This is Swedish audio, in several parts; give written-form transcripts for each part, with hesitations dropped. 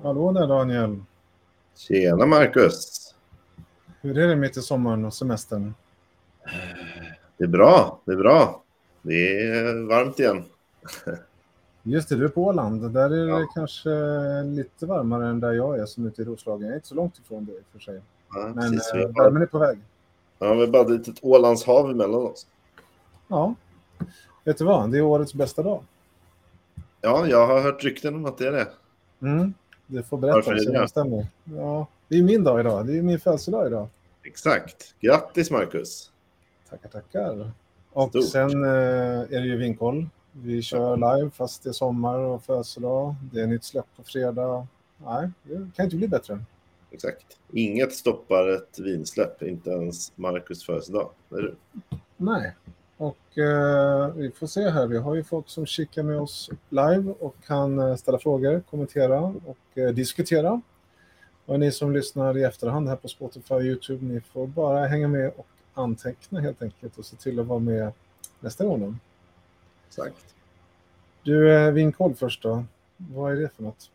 Hallå där Daniel. Tjena Marcus. Hur är det mitt i sommaren och semestern? Det är bra, det är bra. Det är varmt igen. Just det, du är på Åland. Där är det Ja. kanske lite varmare än där jag är som ute i Roslagen. Jag är inte så långt ifrån det för sig. Ja, Men precis. värmen är på väg. Ja, vi har bara ett litet Ålandshav emellan oss. Ja, vet du vad? Det är årets bästa dag. Ja, jag har hört rykten om att det är det. Du får berätta Varför är så det? det stämmer. Ja, det är min dag idag. Det är min födelsedag idag. Exakt. Grattis Marcus. Tackar. Och Stort. sen är det ju vinkoll. Vi kör live fast det är sommar och födelsedag. Det är nytt släpp på fredag. Nej, det kan inte bli bättre. Exakt. Inget stoppar ett vinsläpp, inte ens Marcus födelsedag. Det är du. Nej, och vi får se här. Vi har ju folk som kikar med oss live och kan ställa frågor, kommentera och diskutera. Och ni som lyssnar i efterhand här på Spotify och YouTube, ni får bara hänga med och anteckna helt enkelt och se till att vara med nästa gång. Exakt. Du, vinkoll först då. Vad är det för något?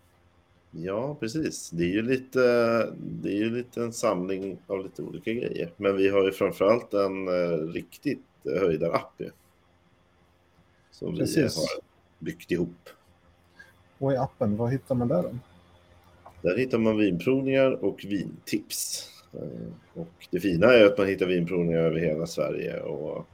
Ja, precis. Det är ju lite en samling av lite olika grejer. Men vi har ju framförallt en riktigt höjdarapp ju. Som Precis. vi har byggt ihop. Och i appen, vad hittar man där då? Där hittar man vinprovningar och vintips. Och det fina är att man hittar vinprovningar över hela Sverige och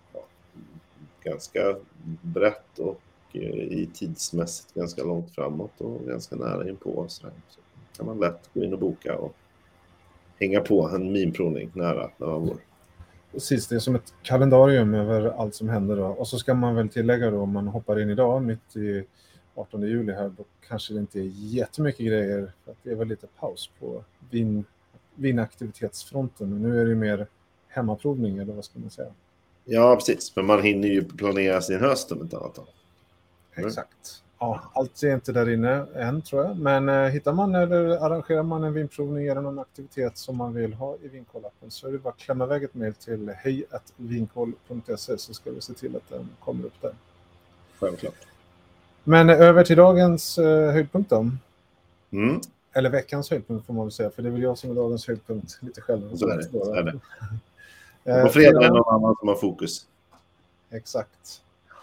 ganska brett och i tidsmässigt ganska långt framåt och ganska nära inpå. Så kan man lätt gå in och boka och hänga på en vinprovning nära när man bor. Precis, det är som ett kalendarium över allt som händer då. Och så ska man väl tillägga då, om man hoppar in idag mitt i 18 juli här, då kanske det inte är jättemycket grejer. För att det är väl lite paus på vinaktivitetsfronten. Men nu är det mer hemmaprovning, eller vad ska man säga? Ja, precis. Men man hinner ju planera sin höst om inte annat. Exakt. Ja, allt är inte där inne än tror jag. Men hittar man eller arrangerar man en vinprovning eller någon aktivitet som man vill ha i vinkollappen så är det bara att klämma iväg ett mejl till hej@vinkoll.se så ska vi se till att den kommer upp där. Självklart. Men över till dagens höjdpunkt då. Mm. Eller veckans höjdpunkt får man väl säga, för det är väl jag som är dagens höjdpunkt lite själv. Så är det. Så är det. På fredag är någon annan som har fokus. Exakt.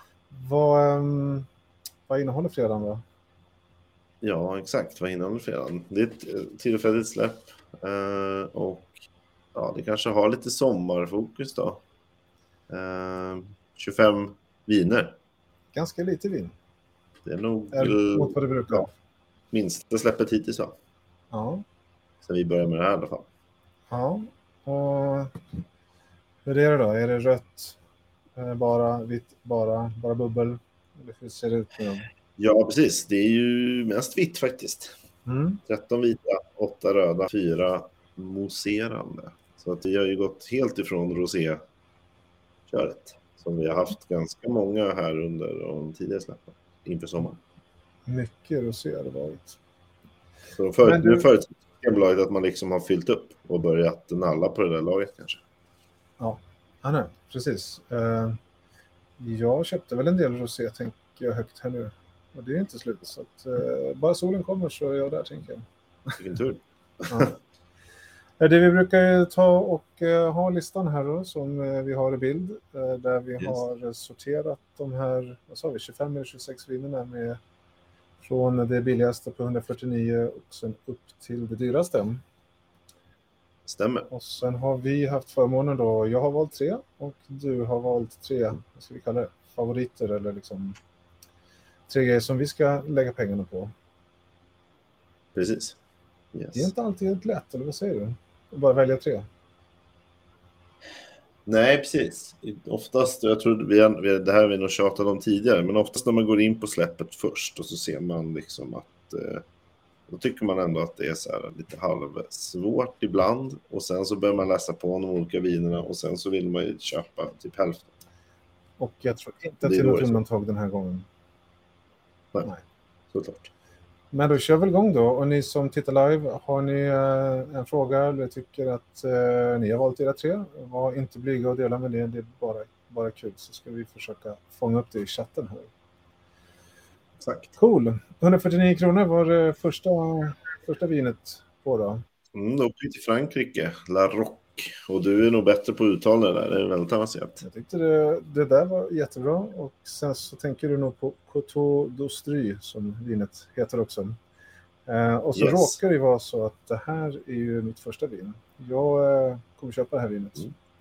Vad innehåller fredagen då? Ja, exakt. Vad innehåller fredagen? Det är ett tillfälligt släpp. Och ja, det kanske har lite sommarfokus då. 25 viner. Ganska lite vin. Det är nog mot vad det brukar. Ja, minsta släppet hittills va? Ja. Så vi börjar med det här i alla fall. Ja. Och hur är det då? Är det rött? Bara vitt? Bara bubbel? Eller hur ser det ut med dem? Ja, precis. Det är ju mest vitt faktiskt. 13 vita, 8 röda, 4 mousserande. Så att vi har ju gått helt ifrån rosé-köret. Som vi har haft ganska många här under de tidigare släppen inför sommaren. Mycket rosé har det varit. Så nu förutsätter bolaget att man liksom har fyllt upp och börjat nalla på det där laget kanske. Ja, nej, precis. Jag köpte väl en del rosé, tänker jag högt här nu. Och det är inte slut. Så att, bara solen kommer så är jag där, tänker jag. Vilken tur. Ja. Det vi brukar ta och ha listan här då, som vi har i bild. Där vi har sorterat de här, 25 eller 26 vinerna med från det billigaste på 149 och sen upp till det dyraste. Stämmer. Och sen har vi haft förmånen då, jag har valt 3 och du har valt 3, vad ska vi kalla det, favoriter eller liksom 3 grejer som vi ska lägga pengarna på. Precis. Yes. Det är inte alltid helt lätt, eller vad säger du? Bara välja 3. Nej, precis. Oftast, jag tror det här har vi nog tjatat om tidigare, men oftast när man går in på släppet först och så ser man liksom att då tycker man ändå att det är så här lite halvsvårt ibland och sen så börjar man läsa på de olika vinerna och sen så vill man ju köpa typ hälften. Och jag tror inte till något undantag den här gången. Nej. Såklart. Men då kör vi igång då. Och ni som tittar live, har ni en fråga eller tycker att ni har valt era 3, var inte blyga och dela med det. Det är bara kul, så ska vi försöka fånga upp det i chatten här. Exakt. Cool. 149 kronor var det första vinet på då. Då åker vi till Frankrike, La Roque. Och du är nog bättre på att uttala det där, det är väldigt avancerat. Jag tyckte det där var jättebra. Och sen så tänker du nog på Coteau d'Austry som vinet heter också. Och så råkar det vara så att det här är ju mitt första vin. Jag kommer köpa det här vinet.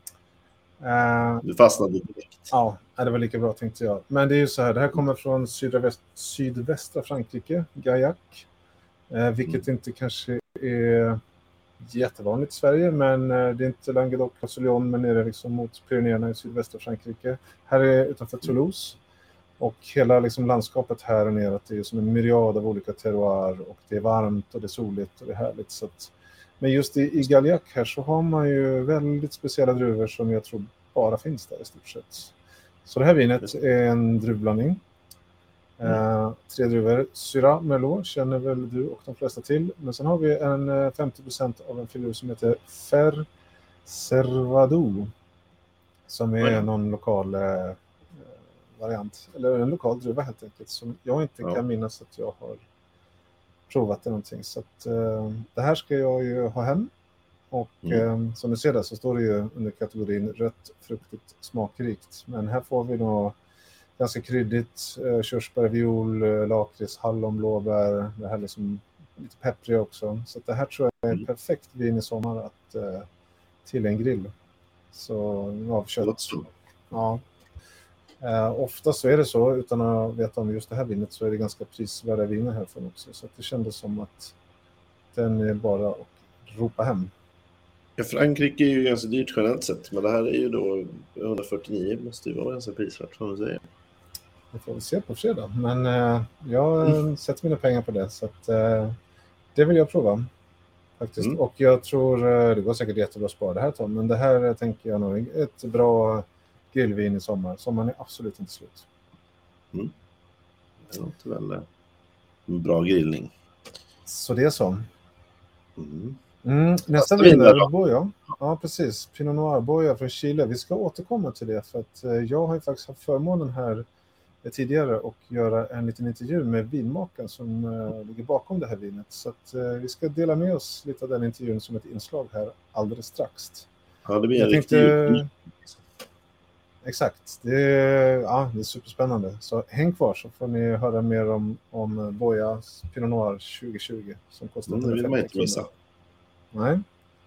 Du fastnade direkt. Ja, det var lika bra tänkte jag. Men det är ju så här, det här kommer från sydvästra Frankrike, Gaillac. Vilket inte kanske är jättevanligt i Sverige, men det är inte Languedoc-Roussillon, men är det liksom mot Pyrenéerna i sydvästra Frankrike. Här är utanför Toulouse. Och hela liksom landskapet här och nere, det är som en myriad av olika terroir, och det är varmt och det är soligt och det är härligt. Så att, men just i Gaillac här så har man ju väldigt speciella druvor som jag tror bara finns där i stort sett. Så det här vinet är en druvblandning. 3 druvor. Syrah Merlot känner väl du och de flesta till. Men sen har vi en 50% av en filur som heter Fer Servadou. Som är någon lokal variant. Eller en lokal druva helt enkelt. Som jag inte kan minnas att jag har provat det någonting. Så att, det här ska jag ju ha hem. Och som du ser där så står det ju under kategorin rött, fruktigt, smakrikt. Men här får vi nog ganska kryddigt, körsbär, viol, lakrits, hallon, blåbär. Det här liksom lite peppriga också. Så det här tror jag är perfekt vin i sommar att till en grill. Så av kött. Ja. Ofta så är det så, utan att veta om just det här vinet, så är det ganska prisvärda viner härifrån också. Så att det kändes som att den är bara att ropa hem. Ja, Frankrike är ju ganska dyrt generellt sett, men det här är ju då 149, måste ju vara ganska prisvärt, som du säger. Det får vi se på fredag, men jag sätter mina pengar på det, så att det vill jag prova faktiskt. Och jag tror det går säkert jättebra att spara det här, Tom, men det här tänker jag nog är ett bra grillvin i sommar. Sommaren är absolut inte slut. Det låter väl en bra grillning. Så det är så. Nästa vin är Boya. Ja, precis. Pinot Noir Boya från Chile. Vi ska återkomma till det, för att jag har ju faktiskt haft förmånen här tidigare och göra en liten intervju med vinmakaren som ligger bakom det här vinet. Så att vi ska dela med oss lite av den intervjun som ett inslag här alldeles strax. Ja, det blir en riktig... Exakt. Det är superspännande. Så häng kvar så får ni höra mer om Boyas Pinot Noir 2020 som kostar 150 kronor. Nej.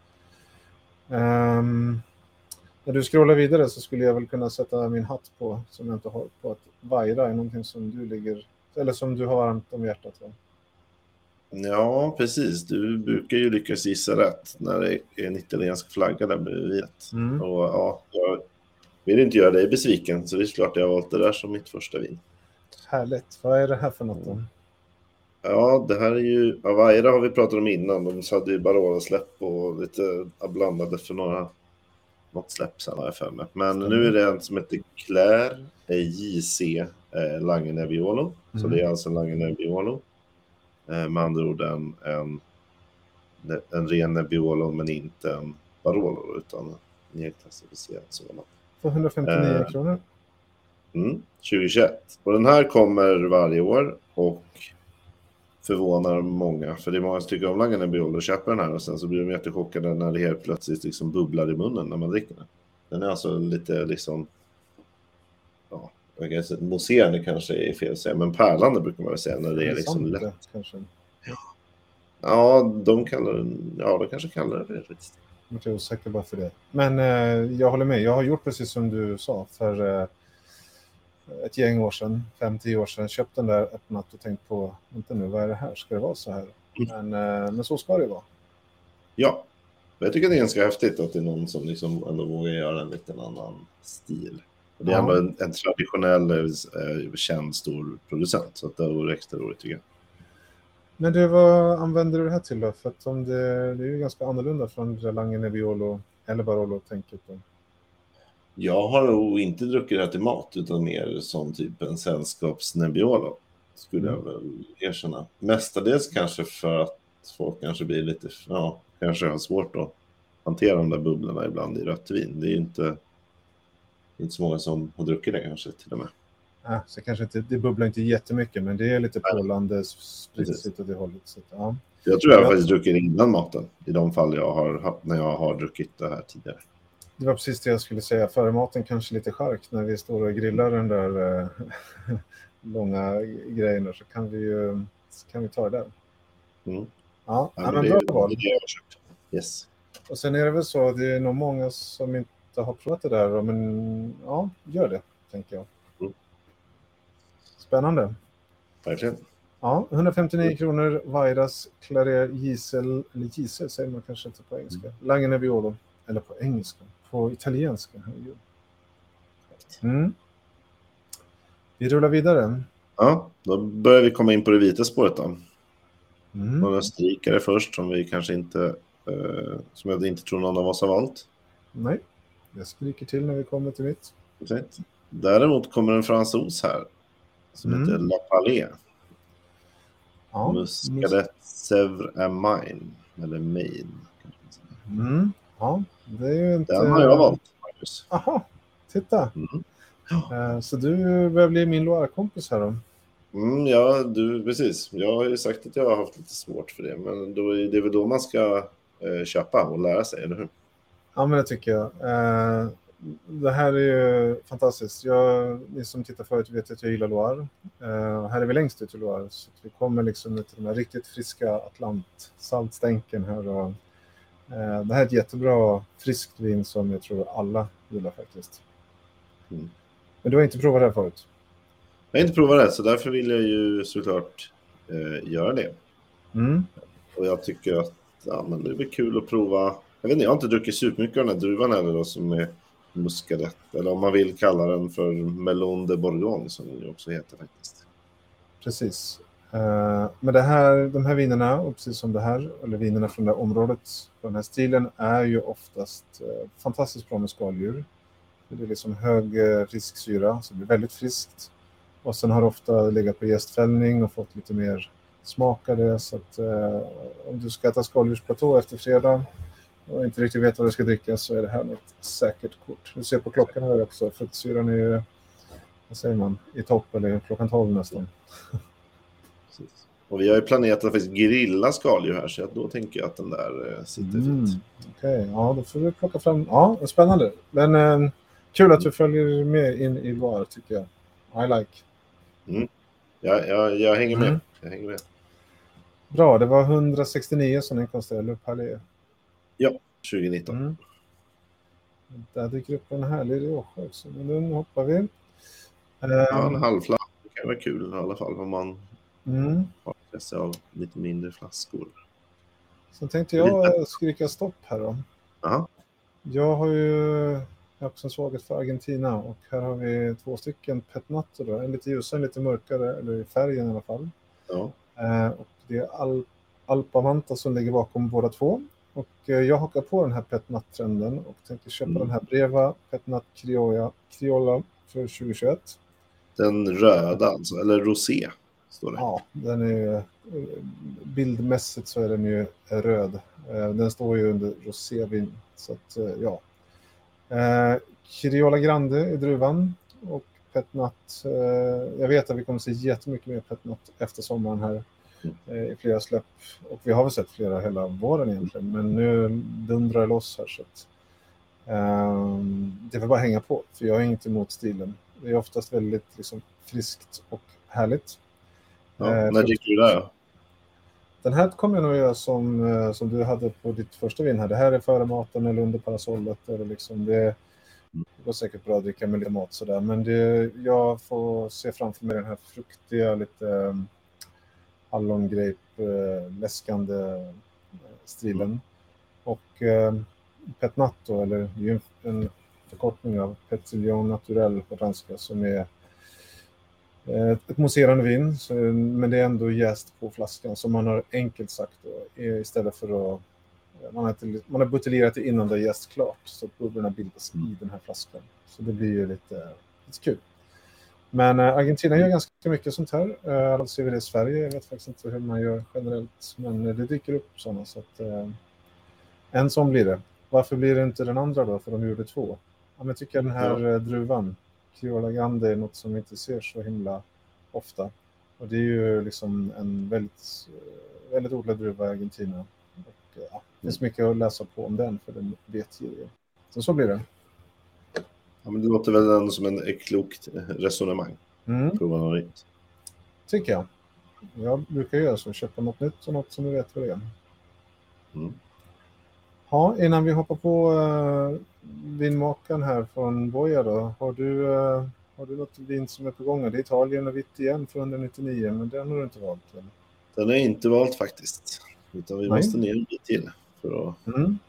När du scrollar vidare så skulle jag väl kunna sätta min hatt på, som jag inte har, på att Vajra är någonting som du ligger, eller som du har varmt om hjärtat. Va? Ja, precis. Du brukar ju lyckas gissa rätt när det är en italiensk flagga där bredvid. Och jag vill inte göra dig besviken, så det är klart jag har valt det där som mitt första vin. Härligt. Vad är det här för något då? Ja, det här är ju... Vajra har vi pratat om innan. De hade ju Barolo-släpp och lite blandade för något släpp sen har jag för mig. Men nu är det en som heter Claire JC Lange Nebbiolo. Så det är alltså en Lange Nebbiolo. Med andra ord en ren Nebbiolo, men inte en Barolo utan nedklassificerad sådan. För 159 kronor. 2021. Och den här kommer varje år och förvånar många. För det är många som tycker om Lange Nebbiolo och köper den här, och sen så blir de jättechockade när det helt plötsligt liksom bubblar i munnen när man dricker den. Den är alltså lite liksom, mousserande kanske är fel att säga, men pärlande brukar man väl säga när det är liksom lätt. Kanske. Ja, de kanske kallar det för det. Jag är osäker bara för det. Men jag håller med. Jag har gjort precis som du sa för ett gäng år sedan, 5-10 år sedan, köpt den där, öppnat och tänkt på, inte nu, vad är det här? Ska det vara så här? Men så ska det vara. Ja. Jag tycker det är ganska häftigt att det är någon som liksom ändå vågar göra en liten annan stil. Och det är ändå en traditionell, känd stor producent, så att det vore extra roligt tycker jag. Men du, vad använder du det här till då? För att det är ju ganska annorlunda från Lange Nebbiolo eller Barolo-tänket då. Jag har nog inte druckit det här till mat, utan mer som typ en sällskaps-Nebbiolo, skulle jag väl erkänna. Mestadels kanske för att folk kanske blir lite, kanske har svårt att hantera de där bubblorna ibland i rött vin. Det är inte så många som har druckit det kanske till och med. Så kanske inte, det bubblar inte jättemycket, men det är lite pålande spritsigt åt det hållet. Så, ja. Jag tror jag faktiskt druckit innan maten i de fall jag har när jag har druckit det här tidigare. Det var precis det jag skulle säga. Före maten kanske lite chark när vi står och grillar den där långa grejerna, så kan vi ta det där. Mm. Ja, men men det bra är val. det jag har köpt. Yes. Och sen är det väl så, det är nog många som inte har provat det där, men ja, gör det, tänker jag. Mm. Spännande. Verkligen. Ja, 159 kronor, Vairas Claret Gisel, eller Gisel säger man kanske inte på engelska. Lange Nebbiolo, eller på engelska, på italienska. Vi rullar vidare. Ja, då börjar vi komma in på det vita spåret då. Mm. Några strikare först som vi kanske inte, som jag inte tror någon av oss har valt. Nej, jag skriker till när vi kommer till mitt. Exakt. Däremot kommer en fransos här som heter La Palais. Ja, Muscadet Sèvres et Maine, eller Maine. Ja, det är ju inte... Den har jag valt, Marcus. Aha, titta. Så du börjar bli min Loire-kompis här då. Ja, precis. Jag har ju sagt att jag har haft lite svårt för det, men då är det väl då man ska köpa och lära sig, eller hur? Ja, men det tycker jag. Det här är ju fantastiskt. Ni som tittar förut vet att jag gillar Loire. Här är vi längst ut i Loire, så vi kommer liksom till den här riktigt friska Atlantsaltstänken här. Och, det här är ett jättebra friskt vin som jag tror alla gillar faktiskt. Men du har inte provat det här förut? Jag har inte provat det, så därför vill jag ju såklart göra det. Och jag tycker att men det blir kul att prova. Jag vet inte, jag har inte druckit supermycket av den här druvan eller då, som är Muscadet. Eller om man vill kalla den för Melon de Bourgogne, som den ju också heter faktiskt. Precis. Men de här vinerna, och precis som det här, eller vinerna från det här området, på den här stilen, är ju oftast fantastiskt bra med skaldjur. Det är liksom hög risksyra, så det blir väldigt friskt. Och sen har ofta legat på jästfällning och fått lite mer smakade. Så att om du ska äta skaldjursplatå efter fredag och inte riktigt vet vad du ska dricka, så är det här något säkert kort. Du ser på klockan här också, fruktsyran är ju, vad säger man, i topp, eller klockan 12 nästan. Precis. Och vi har ju planerat att faktiskt grilla skaldjur här, så då tänker jag att den där sitter fint. Okej, ja, då får vi plocka fram. Ja, spännande. Men kul att du följer med in i Loire, tycker jag. I like. Jag hänger med. Jag hänger med. Bra, det var 169 som den kostade, Le Palais. Ja, 2019. Där dyker upp en härlig Rioja också, men den hoppar vi. En halvflaska kan vara kul i alla fall, om man har intresse av lite mindre flaskor. Så tänkte jag skrika stopp här då. Aha. Jag har också en svaghet för Argentina, och här har vi 2 stycken Petnato då. En lite ljusare, en lite mörkare, eller i färgen i alla fall. Ja. Och det är Alpamanta som ligger bakom båda 2. Och jag hakar på den här Petnat-trenden och tänker köpa den här Breva Petnat Criolla för 2021. Den röda alltså, eller rosé står det. Ja, den är bildmässigt så är den ju röd. Den står ju under rosévin, så att ja. Criolla Grande är druvan, och Petnat, jag vet att vi kommer att se jättemycket mer Petnat efter sommaren här i flera släpp, och vi har väl sett flera hela våren egentligen, men nu dundrar det loss här, så att det vill bara hänga på, för jag är inte emot stilen. Det är oftast väldigt liksom friskt och härligt. När dricker du det? Den här kommer jag nog göra som du hade på ditt första vin här. Det här är före maten eller under parasollet. Eller liksom det går säkert bra att dricka med lite mat sådär. Men jag får se framför mig den här fruktiga, lite hallongrape, läskande stilen. Och Petnato, eller det är ju en förkortning av Petillon Naturel på franska, som är ett mousserande vin, men det är ändå jäst på flaskan, som man har enkelt sagt då, istället för att man har buteljerat det innan det är jäst klart, så att bubblorna bildas i den här flaskan, så det blir ju lite kul. Men Argentina gör ganska mycket sånt här. Alltså ser vi det i Sverige, jag vet faktiskt inte hur man gör generellt, men det dyker upp sådana, så att en sån blir det. Varför blir det inte den andra då, för de gjorde 2? Ja, men jag tycker den här druvan, Criolla Grande är något som vi inte ser så himla ofta. Och det är ju liksom en väldigt odlad druva i Argentina. Och det finns mycket att läsa på om den, för den vet ju. Så blir det. Ja, men det låter väl ändå som ett klokt resonemang. Prova något nytt. Tycker jag. Jag brukar göra så, köpa något nytt och något som vi vet vad det är. Ja, innan vi hoppar på vinmakaren här från Boja då. Har du något vin som är på gång? Det är Italien och vitt igen för 199, men den har du inte valt, eller? Den är inte valt faktiskt. Utan vi måste ner en bit till för att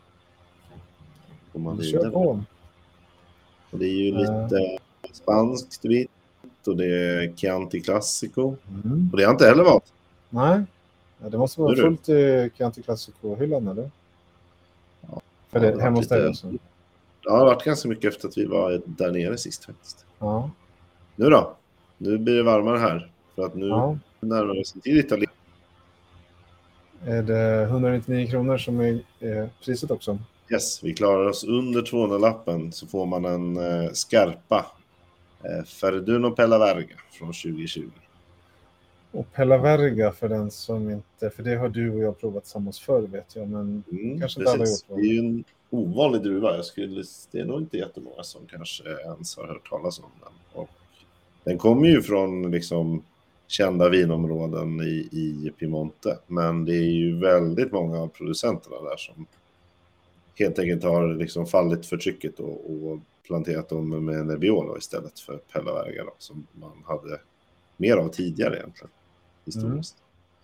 komma vidare. På. Och det är ju lite spanskt vitt och det är Chianti Classico. Och det har inte heller valt. Nej, det måste vara fullt i Chianti Classico-hyllan, eller? Ja, för det hemma hos dig också. Ja, det har varit ganska mycket efter att vi var där nere sist faktiskt. Ja. Nu då? Nu blir det varmare här. För att nu närmar vi oss till Italien. Är det 199 kronor som är priset också? Yes, vi klarar oss under 200-lappen så får man en Scarpa Ferduno Pellaverga från 2020. Och Pellaverga för den som inte, för det har du och jag provat tillsammans förr, vet jag, men kanske inte alla gjort. Det är ju en ovanlig druva. Det är nog inte jättemånga som kanske ens har hört talas om den. Och den kommer ju från liksom kända vinområden i Piemonte, men det är ju väldigt många av producenterna där som helt enkelt har liksom fallit för trycket och planterat dem med Nebbiolo istället för Pellaverga då, som man hade mer av tidigare egentligen historiskt.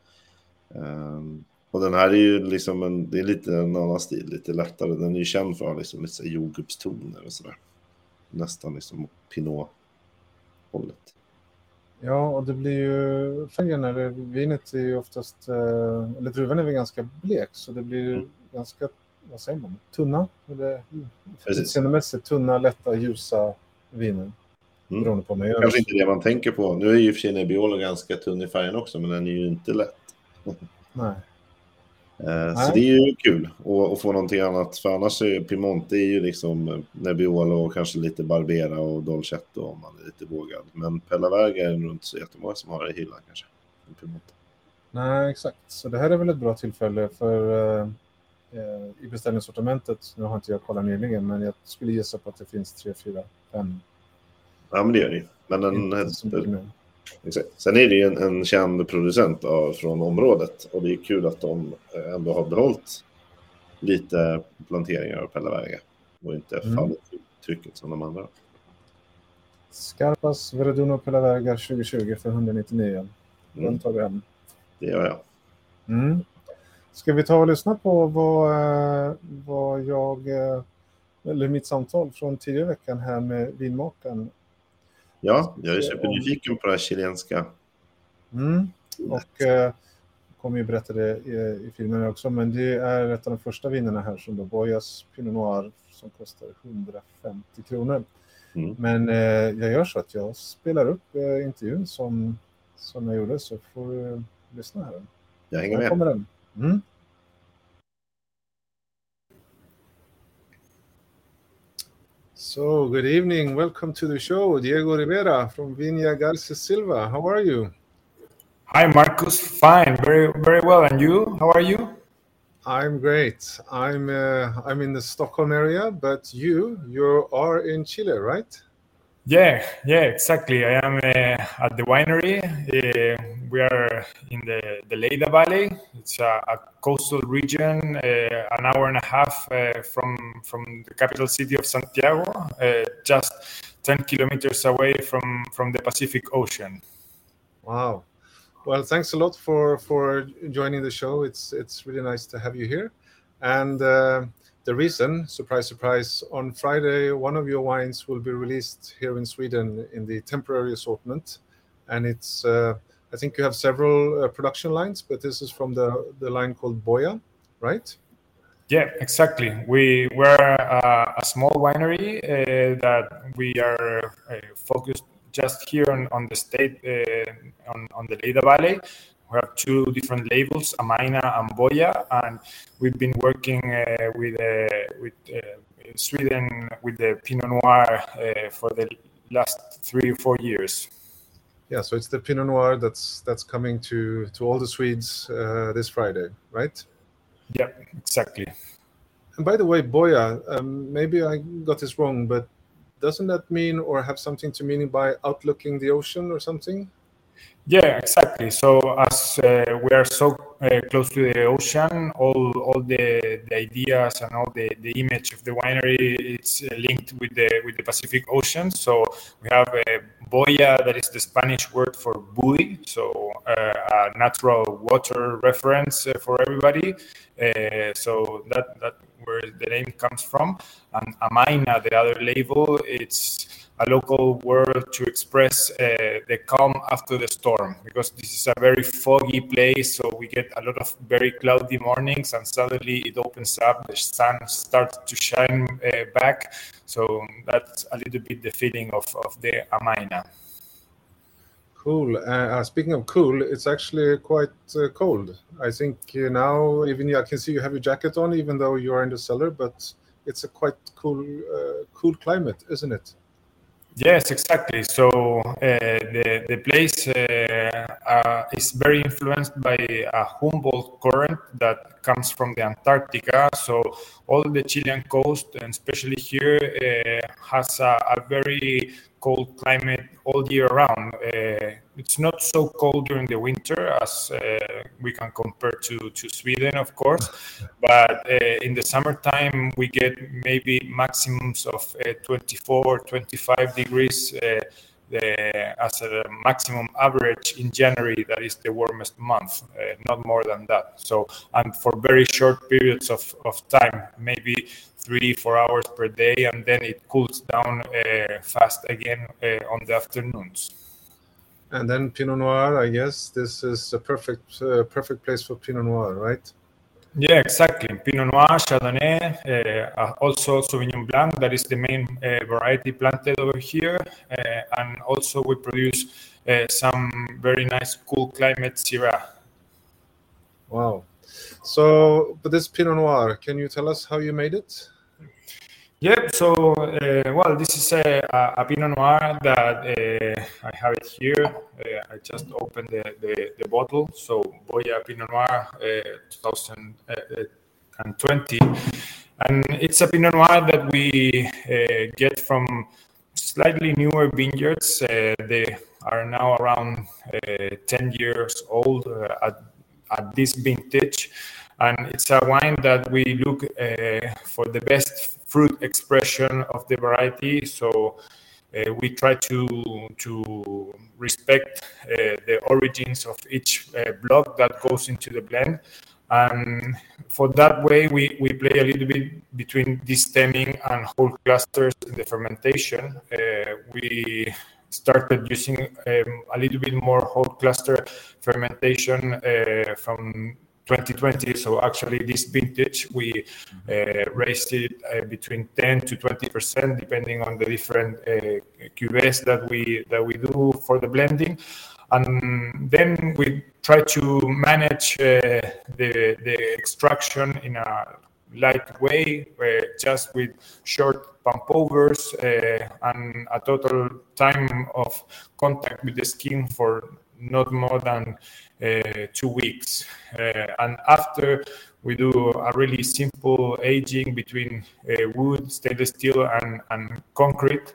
Och den här är ju liksom det är lite en annan stil, lite lättare. Den är ju känd för liksom lite jordgubbstoner och sådär. Nästan liksom Pinot-hållet. Ja, och det blir ju färgen när vinet är ju oftast, eller druvan är väl ganska blek, så det blir ganska, vad säger man, tunna, eller utseendemässigt tunna, lätta, ljusa viner. Beroende på mig. Kanske inte det man tänker på. Nu är ju för sig Nebbiolo ganska tunn i färgen också, men den är ju inte lätt. Nej. Så det är ju kul att få någonting annat, för annars är Piemonte är ju liksom Nebbiolo och kanske lite Barbera och Dolcetto om man är lite vågad. Men Pellaverga är nog inte så jättemånga som har det i hyllan kanske. Piemonte. Nej, exakt. Så det här är väl ett bra tillfälle för i beställningssortimentet. Nu har inte jag kollat nyligen, men jag skulle gissa på att det finns 3, 4, 5. Ja, men det är det ju. Men sen är det ju en känd producent från området, och det är kul att de ändå har behållit lite planteringar av Pellaverga och inte fallit i trycket som de andra. Scarpas Verduno Pellaverga 2020 för 199. Den tar vi hem. Det gör jag. Ska vi ta och lyssna på vad eller mitt samtal från tidigare veckan här med vinmakaren? Ja, jag är supernyfiken på det här chilenska. Och kommer ju berätta det i filmen också, men det är ett av de första vinerna här som då Bojas Pinot Noir som kostar 150 kronor. Men jag gör så att jag spelar upp intervjun som jag gjorde, så får du lyssna här. Jag hänger med. Här kommer den. So, good evening. Welcome to the show. Diego Rivera from Viña Garcia Silva. How are you? Hi, Marcus. Fine. Very, very well. And you? How are you? I'm great. I'm in the Stockholm area, but you are in Chile, right? Yeah, exactly. I am at the winery. We are in the Lleida Valley. It's a coastal region, an hour and a half from the capital city of Santiago, just 10 kilometers away from the Pacific Ocean. Wow. Well, thanks a lot for joining the show. It's really nice to have you here. And the reason, surprise, surprise, on Friday, one of your wines will be released here in Sweden in the temporary assortment. And it's, I think you have several production lines, but this is from the line called Boya, right? Yeah, exactly. We're a small winery that we are focused just here on the state, on the Lleida Valley. We have two different labels, Amaina and Boya, and we've been working with Sweden with the Pinot Noir for the last 3 or 4 years. Yeah, so it's the Pinot Noir that's coming to all the Swedes this Friday, right? Yeah, exactly. And by the way, Boya, maybe I got this wrong, but doesn't that mean or have something to mean by outlooking the ocean or something? Yeah, exactly. So as we are so close to the ocean, all the ideas and all the image of the winery, it's linked with the Pacific Ocean. So we have boya, that is the Spanish word for buoy, so a natural water reference for everybody. So that where the name comes from. And Amaina, the other label, it's a local word to express the calm after the storm, because this is a very foggy place, so we get a lot of very cloudy mornings, and suddenly it opens up, the sun starts to shine back. So that's a little bit the feeling of the Amaina. Cool. Speaking of cool, it's actually quite cold. I think now even I can see you have your jacket on, even though you are in the cellar, but it's a quite cool climate, isn't it? Yes, exactly. So the place is very influenced by a Humboldt current that comes from the Antarctica. So all the Chilean coast, and especially here, has a very cold climate all year round. It's not so cold during the winter as we can compare to Sweden, of course, but in the summertime we get maybe maximums of 24, 25 degrees as a maximum average in January. That is the warmest month, not more than that. So, and for very short periods of time, maybe 3-4 hours per day, and then it cools down fast again on the afternoons. And then Pinot Noir, I guess this is a perfect place for Pinot Noir, right? Yeah, exactly. Pinot Noir, Chardonnay, also Sauvignon Blanc, that is the main variety planted over here. And also we produce some very nice cool climate Syrah. Wow. So, but this Pinot Noir, can you tell us how you made it? Yep. So, well, this is a Pinot Noir that I have it here. I just opened the bottle. So, Boya Pinot Noir 2020. And it's a Pinot Noir that we get from slightly newer vineyards. They are now around 10 years old at this vintage. And it's a wine that we look for the best fruit expression of the variety. So we try to respect the origins of each block that goes into the blend. And for that way, we play a little bit between destemming and whole clusters in the fermentation. We started using a little bit more whole cluster fermentation from 2020. So actually this vintage, we raised it between 10 to 20%, depending on the different cuvées that we do for the blending. And then we try to manage the extraction in a light way, just with short pump overs and a total time of contact with the skin for not more than 2 weeks. And after, we do a really simple aging between wood, stainless steel, and concrete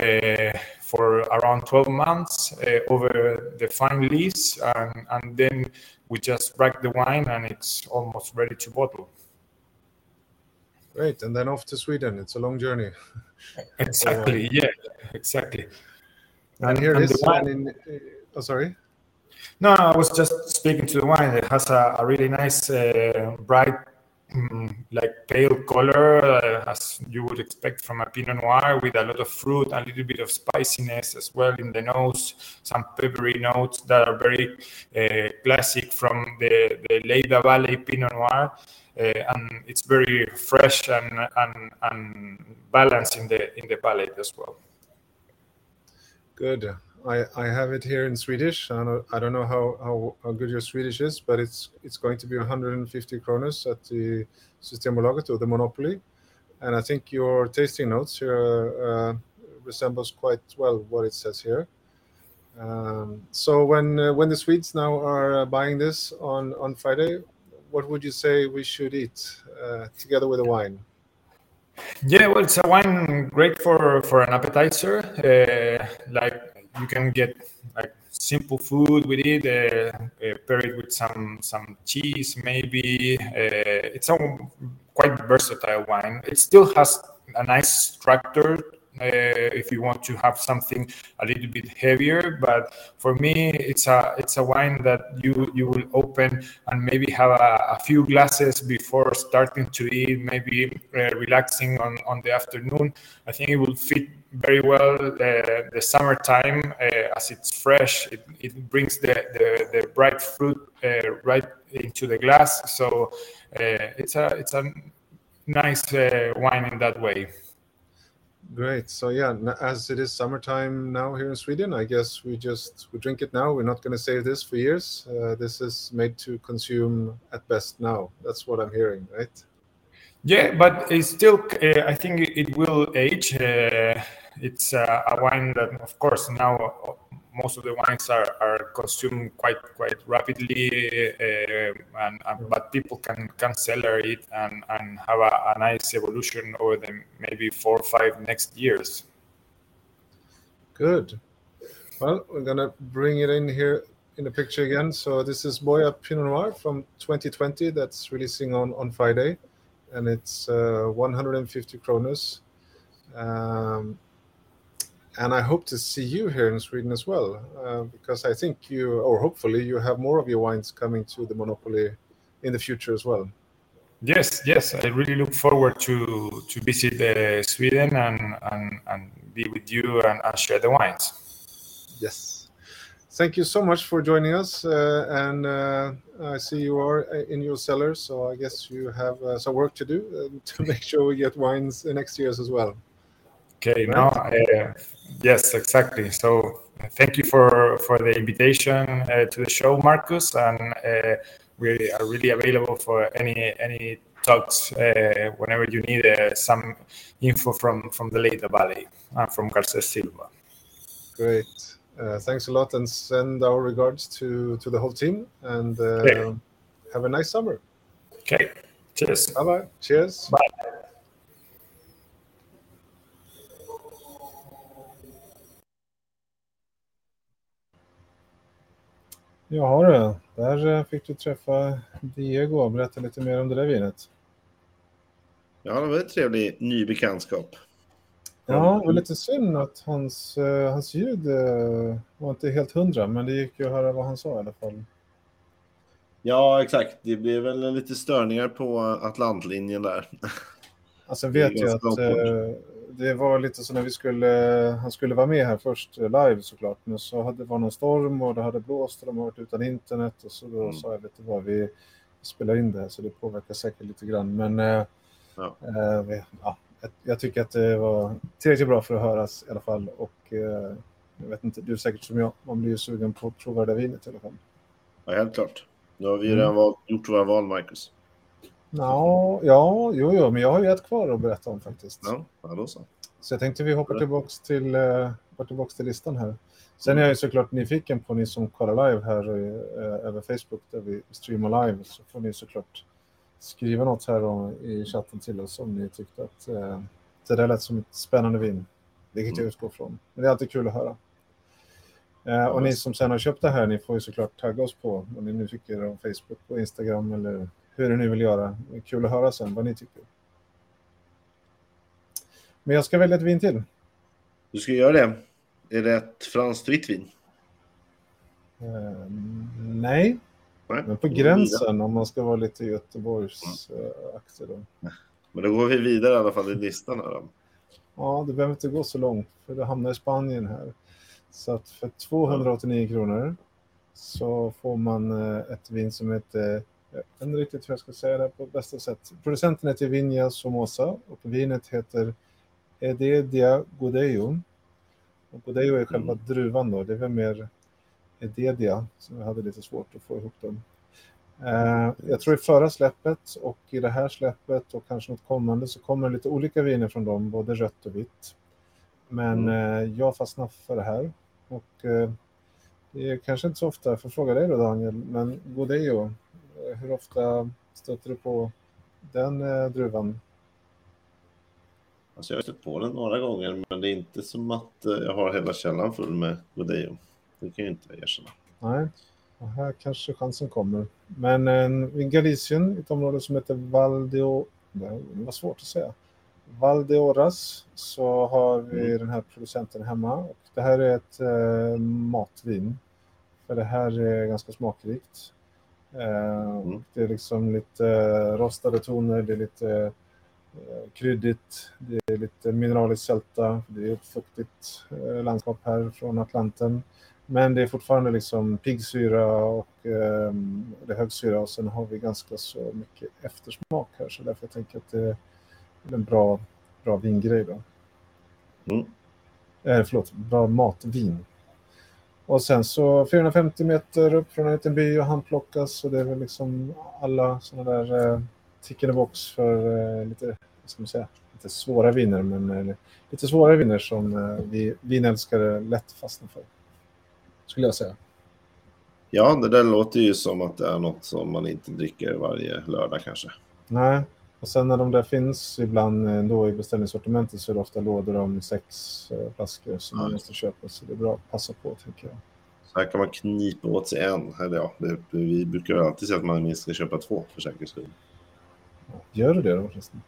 for around 12 months over the fine lees, and then we just rack the wine and it's almost ready to bottle. Great, and then off to Sweden. It's a long journey. Exactly, yeah, exactly. And here it is. Oh, sorry. No, I was just speaking to the wine. It has a really nice, bright, like pale color, as you would expect from a Pinot Noir, with a lot of fruit and a little bit of spiciness as well in the nose, some peppery notes that are very classic from the Lleida Valley Pinot Noir. And it's very fresh and balanced in the palate as well. Good. I have it here in Swedish. I don't know how good your Swedish is, but it's going to be 150 kronor at the Systembolaget or the Monopoly. And I think your tasting notes here are resembles quite well what it says here. So when the Swedes now are buying this on Friday, what would you say we should eat together with the wine? Yeah, well, it's a wine great for an appetizer. Like you can get like simple food with it, pair it with some cheese, maybe. It's a quite versatile wine. It still has a nice structure. If you want to have something a little bit heavier, but for me, it's a wine that you will open and maybe have a few glasses before starting to eat, maybe relaxing on the afternoon. I think it will fit very well the summertime as it's fresh. It brings the bright fruit right into the glass, so it's a nice wine in that way. Great. So yeah, as it is summertime now here in Sweden, I guess we drink it now. We're not going to save this for years. This is made to consume at best now. That's what I'm hearing, right? Yeah, but it's still, I think it will age. It's a wine that, of course, now most of the wines are consumed quite rapidly, but people can cellar it and have a nice evolution over the maybe 4 or 5 next years. Good. Well, we're gonna bring it in here in the picture again. So this is Boya Pinot Noir from 2020 that's releasing on Friday, and it's 150 kronor. And I hope to see you here in Sweden as well, because I think hopefully you have more of your wines coming to the Monopoly in the future as well. Yes. I really look forward to visit Sweden and be with you and share the wines. Yes. Thank you so much for joining us. And I see you are in your cellar, so I guess you have some work to do to make sure we get wines next year as well. Okay, right? Now, yes, exactly. So thank you for the invitation to the show, Marcus, and we are really available for any talks whenever you need some info from the Leida Valley and from Garces Silva. Great. Thanks a lot, and send our regards to the whole team, and have a nice summer. Okay. Cheers. Bye-bye. Cheers. Bye. Ja du, där fick du träffa Diego och berätta lite mer om det där vinet. Ja, det var en trevlig ny bekantskap. Ja, det var lite synd att hans ljud var inte helt 100, men det gick ju att höra vad han sa i alla fall. Ja, exakt. Det blev väl lite störningar på Atlantlinjen där. Alltså vet jag att det var lite så när han skulle vara med här först live såklart, men så det var någon storm och det hade blåst och de har varit utan internet, och så då sa jag lite vad vi spelar in det här, så det påverkar säkert lite grann, men jag tycker att det var tillräckligt bra för att höras i alla fall, och jag vet inte, du är säkert som jag, man blir ju sugen på att prova det vinet i alla fall. Ja, helt klart. Nu har vi redan gjort våra val, Marcus. Jo, men jag har ju ett kvar att berätta om faktiskt. Ja, då så. Så jag tänkte vi hoppar tillbaks till listan här. Sen är jag ju såklart nyfiken på ni som kollar live här över Facebook där vi streamar live, så får ni såklart skriva något här i chatten till oss om ni tyckte att det där lät som ett spännande vin, vilket jag utgår från. Men det är alltid kul att höra. Och ni som sen har köpt det här, ni får ju såklart tagga oss på vad ni nu tycker om Facebook och Instagram eller hur ni vill göra. Det är kul att höra sen vad ni tycker. Men jag ska välja ett vin till. Du ska göra det. Är det ett franskt vitt vin? Nej. Men på gränsen om man ska vara lite Göteborgsaktig då. Men då går vi vidare i alla fall i listan här då. Ja, det behöver inte gå så långt för det hamnar i Spanien här. Så att för 289 kronor så får man ett vin som heter, jag vet inte riktigt hur jag ska säga det på bästa sätt. Producenten heter Viña Somoza och vinet heter Heredia Godello. Och Godello är själva druvan då, det är väl mer Heredia som jag hade lite svårt att få ihop dem. Jag tror i förra släppet och i det här släppet och kanske något kommande så kommer lite olika viner från dem, både rött och vitt. Men jag fastnar för det här. Och det är kanske inte så ofta, för fråga dig då Daniel, men Godello, hur ofta stöter du på den druvan? Alltså jag har stött på den några gånger, men det är inte som att jag har hela källan full med Godello. Det kan jag inte erkänna. Nej, och här kanske chansen kommer. Men i Galicien, ett område som heter det var svårt att säga. Valdeorras, så har vi den här producenten hemma. Och det här är ett matvin. För det här är ganska smakrikt. Det är liksom lite rostade toner, det är lite kryddigt, det är lite mineraliskt sälta, det är ett fuktigt landskap här från Atlanten. Men det är fortfarande liksom piggsyra och det är högsyra, och sen har vi ganska så mycket eftersmak här, så därför jag tänker att det är en bra vingrej då. Bra matvin. Och sen så 450 meter upp från en liten by och handplockas, så det är väl liksom alla sådana där tick in the box för lite, ska man säga, lite svåra viner, men lite svåra viner som vi vinälskare lätt fastnar för, skulle jag säga. Ja, det där låter ju som att det är något som man inte dricker varje lördag kanske. Nej, och sen när de där finns ibland då i beställningssortimentet, så är det ofta lådor om 6 flaskor som man måste köpa, så det är bra att passa på, tycker jag. Så här kan man knipa åt sig en. Eller ja, vi brukar alltid säga att man minst ska köpa 2 för säkerhets skull. Gör du det då förresten?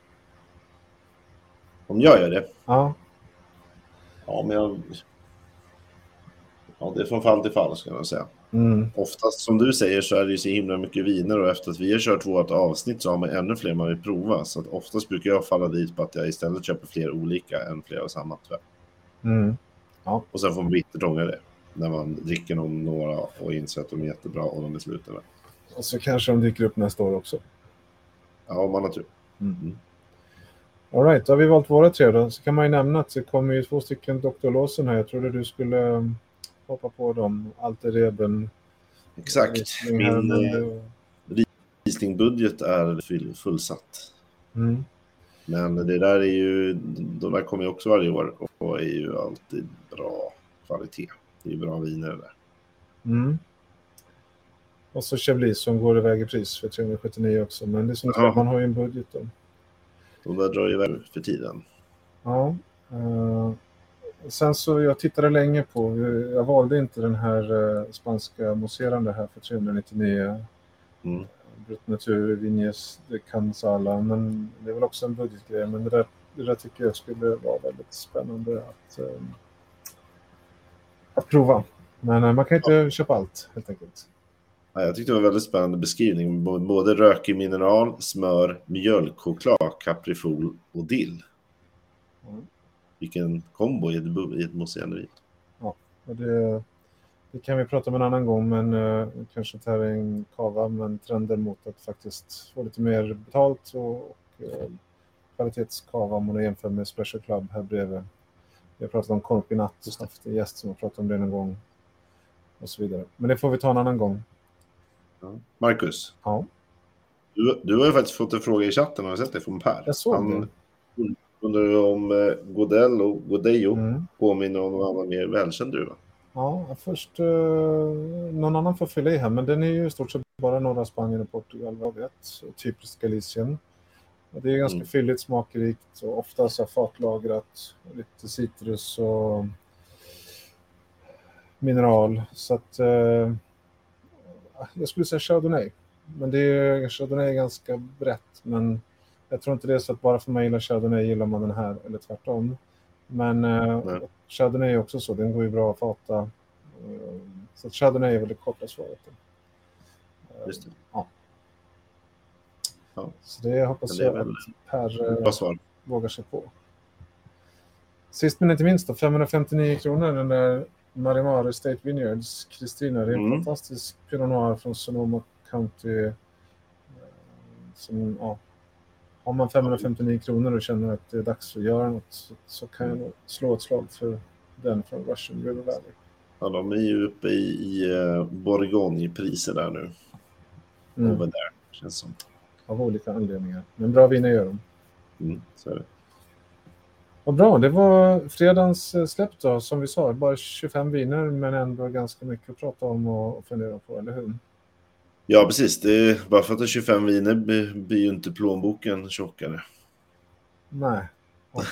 Om jag gör det? Ja. Ja, men det är från fall till fall, ska jag säga. Oftast, som du säger, så är det ju så himla mycket viner, och efter att vi har kört vårt avsnitt så har man ännu fler man vill prova. Så att oftast brukar jag falla dit på att jag istället köper fler olika än fler av samma, tyvärr. Ja. Och sen får man bittert ångra det när man dricker några och inser att de är jättebra och de är slutade. Och så kanske de dyker upp nästa år också. Ja, om man har tur. All right, då har vi valt våra 3 då. Så kan man ju nämna att det kommer ju 2 stycken Dr. Lawson här. Jag trodde du skulle hoppa på dem. Alter Reben. Exakt. Min Riesling-budget är fullsatt. Men det där är ju, de där kommer ju också varje år och är ju alltid bra kvalitet. Det är ju bra viner där. Och så Chablis som går iväg i pris för 379 också. Men det är som att man har ju en budget då. De där drar ju iväg för tiden. Ja. Sen så jag tittade länge på, jag valde inte den här spanska mousserande här för 399. Brut Natur, Vignes de Cansala, men det är väl också en budgetgrej, men det där tycker jag skulle vara väldigt spännande att prova. Men man kan inte köpa allt, helt enkelt. Ja, jag tyckte det var en väldigt spännande beskrivning. Både rökig mineral, smör, mjölkchoklad, kaprifol och dill. Vilken kombo i ett mousserande vin. Ja, och det kan vi prata om en annan gång, men kanske inte här är en kava, men trenden mot att faktiskt få lite mer betalt och kvalitetskava om man jämför med Special Club här bredvid. Vi har pratat om Corpinat, haft en gäst som har pratat om det någon gång och så vidare. Men det får vi ta en annan gång. Ja. Marcus? Ja? Du har ju faktiskt fått en fråga i chatten, har du sett det från Per? Jag såg det. Undrar om Godel och Godello påminner om någon annan mer välkänd druva? Ja, först någon annan får fylla i här, men den är ju i stort sett bara norra Spanien och Portugal, vad jag vet. Typiskt Galicien. Det är ganska fylligt, smakrikt och ofta så fatlagrat. Lite citrus och mineral. Så att jag skulle säga Chardonnay. Men Chardonnay är ganska brett, men jag tror inte det är så att bara för mig gillar Chardonnay gillar man den här, eller tvärtom. Men Chardonnay är också så, den går ju bra att fata. Så Chardonnay är väl det korta svaret. Just det. Ja. Ja. Så det hoppas jag att Per vågar sig på. Sist men inte minst då, 559 kronor den där Marimar State Vineyards Kristina. Det är en fantastisk Pinot Noir från Sonoma County. Som, har man 559 kronor och känner att det är dags att göra något, så kan jag nog slå ett slag för den från Russian River Valley. Ja, de är ju uppe i Bourgogne-priser där nu. Over där, känns som. Av olika anledningar. Men bra viner gör de. Så är det. Vad bra, det var fredagens släpp då, som vi sa, bara 25 viner men ändå ganska mycket att prata om och fundera på, eller hur? Ja, precis. Det är, bara för att det är 25 viner blir ju inte plånboken tjockare. Nej, och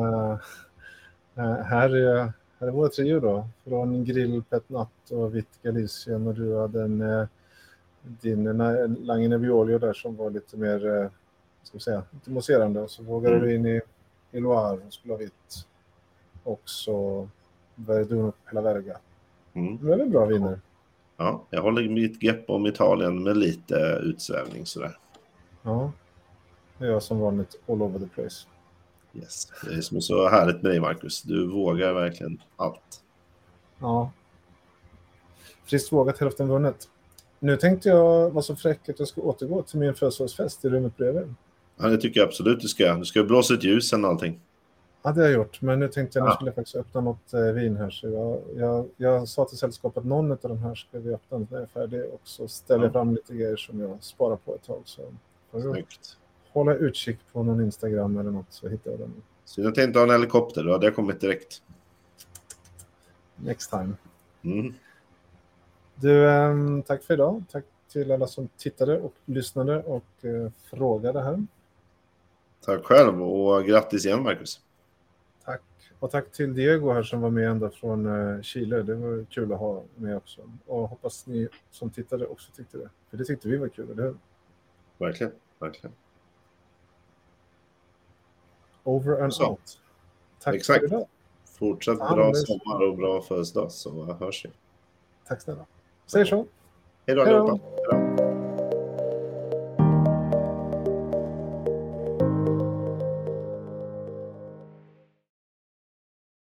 här är vår trio då, från Grill Pet Nat och Vitt Galicien, och du hade din Lange Nebbiolo där som var lite mer, ska vi säga, lite mousserande, och så vågade du in i Loire och skulle ha vitt. Och så Verdun och Pella Verga. Det är väl bra viner. Ja, jag håller mitt grepp om Italien med lite utsvävning sådär. Ja, det är jag som vanligt all over the place. Yes. Det är som är så härligt med dig, Marcus. Du vågar verkligen allt. Ja. Friskt vågat, hälften vunnet. Nu tänkte jag vara så fräck att jag ska återgå till min födelsedagsfest i rummet bredvid. Ja, det tycker jag absolut du ska. Du ska blåsa ett ljus än allting. Ja, det har jag gjort. Men nu tänkte jag, nu skulle jag faktiskt öppna något vin här. Så jag sa till sällskapet, någon av de här ska vi öppna när jag är färdig. Och så ställer jag fram lite grejer som jag sparar på ett tag. Så snyggt. Hålla utkik på någon Instagram eller något, så hittar jag den. Så jag tänkte ha en helikopter då. Det har kommit direkt. Next time. Du, tack för idag. Tack till alla som tittade och lyssnade och frågade här. Tack själv och grattis igen, Marcus. Tack. Och tack till Diego här som var med ända från Chile. Det var kul att ha med också. Och hoppas ni som tittade också tyckte det. För det tyckte vi var kul, eller hur? Verkligen, verkligen. Over and så. Out. Tack Exakt. för idag. Fortsatt bra sommar och bra födelsedag, så hörs vi. Tack snälla. Säger så. Hej då allihopa.